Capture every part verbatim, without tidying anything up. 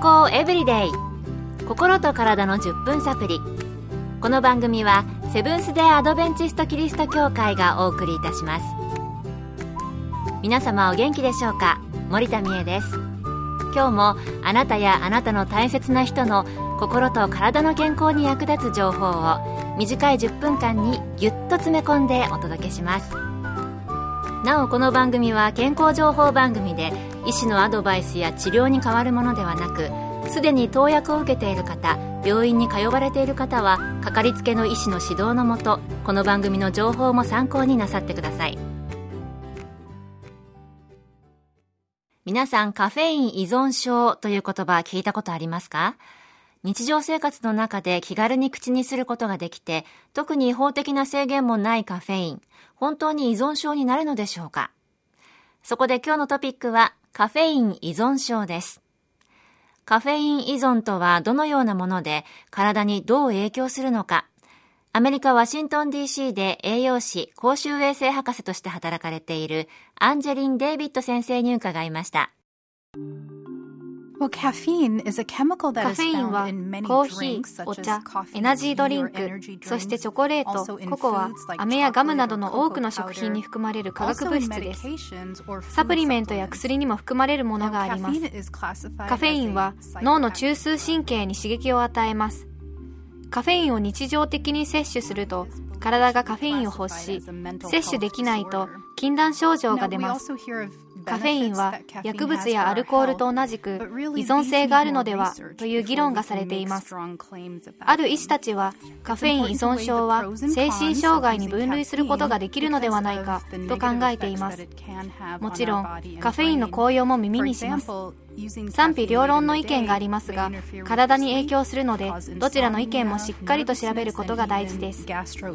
康エブリデイ、心と体のじゅっぷんサプリ。この番組はセブンス・デー・アドベンチスト・キリスト教会がお送りいたします。皆様お元気でしょうか。森田美恵です。今日もあなたやあなたの大切な人の心と体の健康に役立つ情報を短いじゅっぷんかんにぎゅっと詰め込んでお届けします。なおこの番組は健康情報番組で医師のアドバイスや治療に代わるものではなく、すでに投薬を受けている方、病院に通われている方はかかりつけの医師の指導のもと、この番組の情報も参考になさってください。皆さん、カフェイン依存症という言葉聞いたことありますか？日常生活の中で気軽に口にすることができて、特に法的な制限もないカフェイン、本当に依存症になるのでしょうか？そこで今日のトピックはカフェイン依存症です。カフェイン依存とはどのようなもので、体にどう影響するのか。アメリカ・ワシントン ディーシー で栄養士、公衆衛生博士として働かれているアンジェリン・デイビッド先生に伺いました。 カフェインはコーヒー、お茶、エナジードリンク、そしてチョコレート、ココア、飴やガムなどの多くの食品に含まれる化学物質です。サプリメントや薬にも含まれるものがあります。カフェインは脳の中枢神経に刺激を与えます。カフェインを日常的に摂取すると、体がカフェインを欲し、摂取できないと禁断症状が出ます。カフェインは薬物やアルコールと同じく依存性があるのではという議論がされています。ある医師たちはカフェイン依存症は精神障害に分類することができるのではないかと考えています。もちろんカフェインの効用も耳にします。賛否両論の意見がありますが、体に影響するのでどちらの意見もしっかりと調べることが大事です。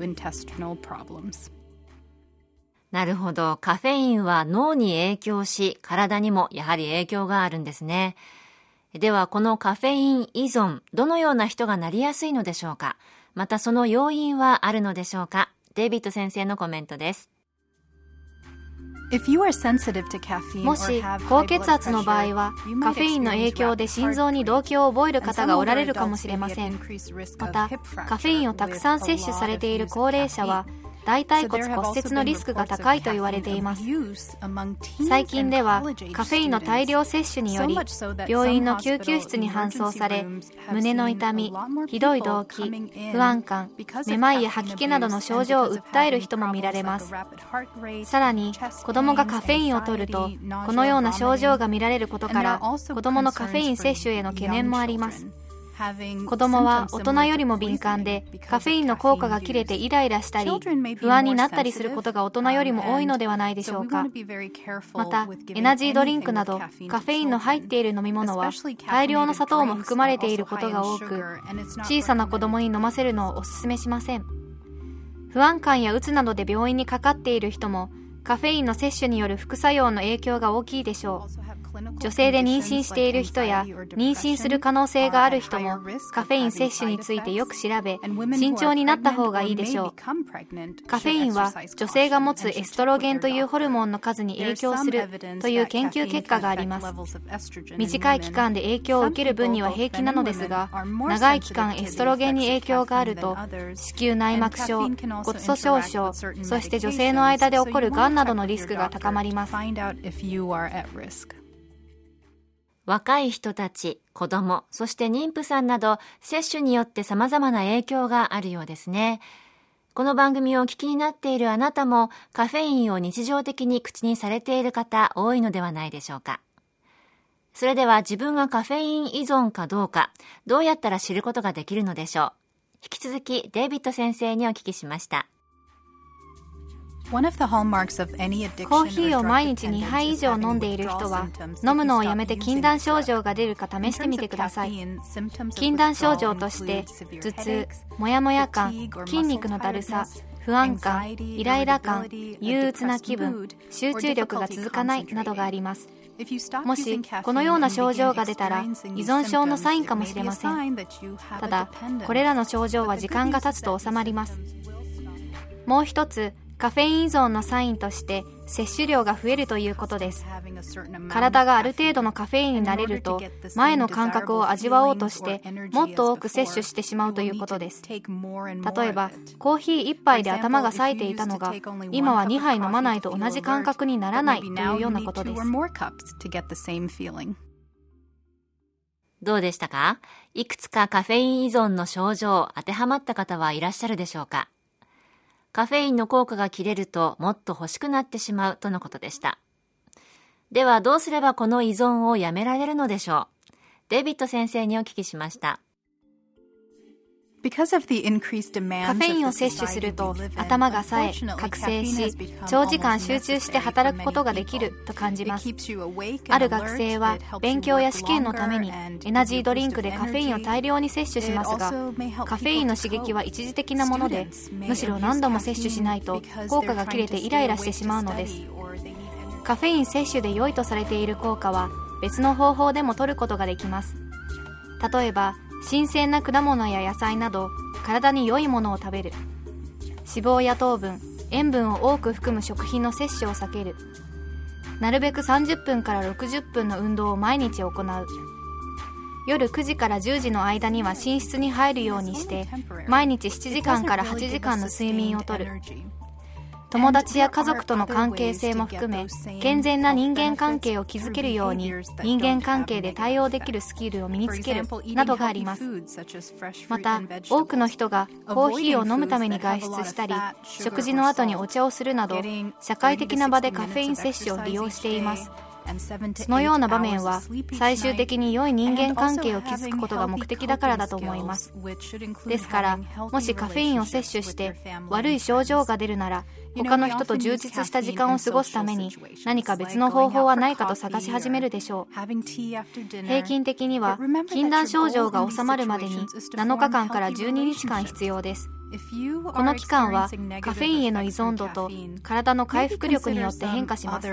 なるほど。カフェインは脳に影響し、体にもやはり影響があるんですね。では、このカフェイン依存、どのような人がなりやすいのでしょうか。またその要因はあるのでしょうか。デイビッド先生のコメントです。 もし高血圧の場合は、カフェインの影響で心臓に動悸を覚える方がおられるかもしれません。また、カフェインをたくさん摂取されている高齢者は、大腿骨骨折のリスクが高いと言われています。最近ではカフェインの大量摂取により病院の救急室に搬送され、胸の痛み、ひどい動悸、不安感、めまいや吐き気などの症状を訴える人も見られます。さらに子供がカフェインを摂るとこのような症状が見られることから、子供のカフェイン摂取への懸念もあります。子供は大人よりも敏感で、カフェインの効果が切れてイライラしたり不安になったりすることが大人よりも多いのではないでしょうか。またエナジードリンクなどカフェインの入っている飲み物は大量の砂糖も含まれていることが多く、小さな子供に飲ませるのをお勧めしません。不安感やうつなどで病院にかかっている人もカフェインの摂取による副作用の影響が大きいでしょう。女性で妊娠している人や妊娠する可能性がある人もカフェイン摂取についてよく調べ、慎重になった方がいいでしょう。カフェインは女性が持つエストロゲンというホルモンの数に影響するという研究結果があります。短い期間で影響を受ける分には平気なのですが、長い期間エストロゲンに影響があると子宮内膜症、骨粗しょう症、そして女性の間で起こるがんなどのリスクが高まります。 若い人たち、子供、そして妊婦さんなど、摂取によって様々な影響があるようですね。この番組をお聞きになっているあなたも、カフェインを日常的に口にされている方、多いのではないでしょうか。それでは自分がカフェイン依存かどうか、どうやったら知ることができるのでしょう。引き続き、デイビッド先生にお聞きしました。 コーヒーを毎日にはい以上飲んでいる人は、飲むのをやめて禁断症状が出るか試してみてください。禁断症状として、頭痛、もやもや感、筋肉のだるさ、不安感、イライラ感、憂鬱な気分、集中力が続かないなどがあります。もしこのような症状が出たら依存症のサインかもしれません。ただ、これらの症状は時間が経つと治まります。もう一つ、カカフェイン依存のサインとして摂取量が増えるということです。体がある程度のカフェインになれると、前の感覚を味わおうとしてもっと多く摂取してしまうということです。例えばコーヒーいっぱいで頭が冴えていたのが、今はにはい飲まないと同じ感覚にならないというようなことです。 どうでしたか？いくつかカフェイン依存の症状、当てはまった方はいらっしゃるでしょうか？カフェインの効果が切れるともっと欲しくなってしまうとのことでした。ではどうすればこの依存をやめられるのでしょう？デイビッド先生にお聞きしました。 カフェインを摂取すると頭が冴え、覚醒し、長時間集中して働くことができると感じます。ある学生は勉強や試験のためにエナジードリンクでカフェインを大量に摂取しますが、カフェインの刺激は一時的なもので、むしろ何度も摂取しないと効果が切れてイライラしてしまうのです。カフェイン摂取で良いとされている効果は別の方法でも取ることができます。例えば新鮮な果物や野菜など体に良いものを食べる、脂肪や糖分、塩分を多く含む食品の摂取を避ける、なるべくさんじゅっぷんからろくじゅっぷんの運動を毎日行う、夜くじからじゅうじの間には寝室に入るようにして毎日しちじかんからはちじかんの睡眠をとる、友達や家族との関係性も含め健全な人間関係を築けるように人間関係で対応できるスキルを身につけるなどがあります。また多くの人がコーヒーを飲むために外出したり、食事の後にお茶をするなど社会的な場でカフェイン摂取を利用しています。そのような場面は最終的に良い人間関係を築くことが目的だからだと思います。ですからもしカフェインを摂取して悪い症状が出るなら、他の人と充実した時間を過ごすために何か別の方法はないかと探し始めるでしょう。平均的には禁断症状が治まるまでになのかかんからじゅうににちかん必要です。この期間はカフェインへの依存度と体の回復力によって変化します。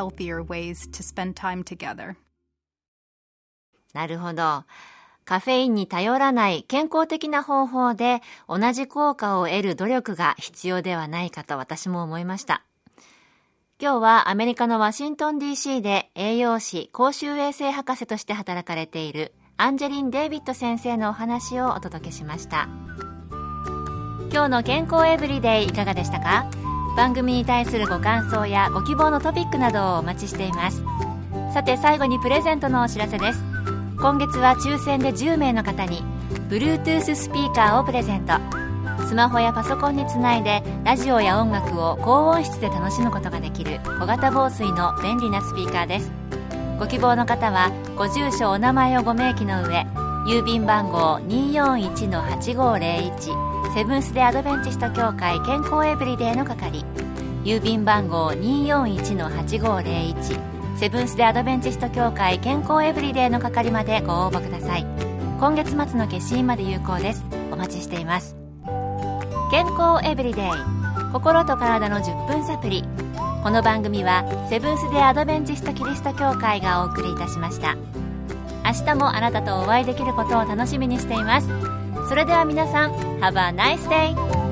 なるほど。カフェインに頼らない健康的な方法で同じ効果を得る努力が必要ではないかと私も思いました。今日はアメリカのワシントン ディーシー で栄養士、公衆衛生博士として働かれているアンジェリン・デイビッド先生のお話をお届けしました。今日の健康エブリデイいかがでしたか？番組に対するご感想やご希望のトピックなどをお待ちしています。さて最後にプレゼントのお知らせです。今月は抽選でじゅうめいの方に Bluetooth スピーカーをプレゼント。スマホやパソコンにつないでラジオや音楽を高音質で楽しむことができる小型防水の便利なスピーカーです。ご希望の方はご住所お名前をご明記の上、郵便番号 にーよんいちのはちごーぜろいち セブンス・デ・アドベンチスト協会健康エブリデイの係、郵便番号 にーよんいちのはちごーぜろいち セブンス・デ・アドベンチスト協会健康エブリデイの係までご応募ください。今月末の消印まで有効です。お待ちしています。健康エブリデイ、心と体のじゅっぷんサプリ。この番組はセブンス・デ・アドベンチスト・キリスト教会がお送りいたしました。明日もあなたとお会いできることを楽しみにしています。それでは皆さん、Have a nice day!